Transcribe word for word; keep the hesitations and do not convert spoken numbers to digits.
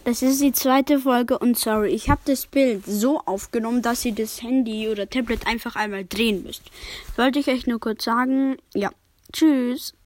Das ist die zweite Folge und sorry, ich habe das Bild so aufgenommen, dass ihr das Handy oder Tablet einfach einmal drehen müsst. Wollte ich euch nur kurz sagen. Ja, tschüss.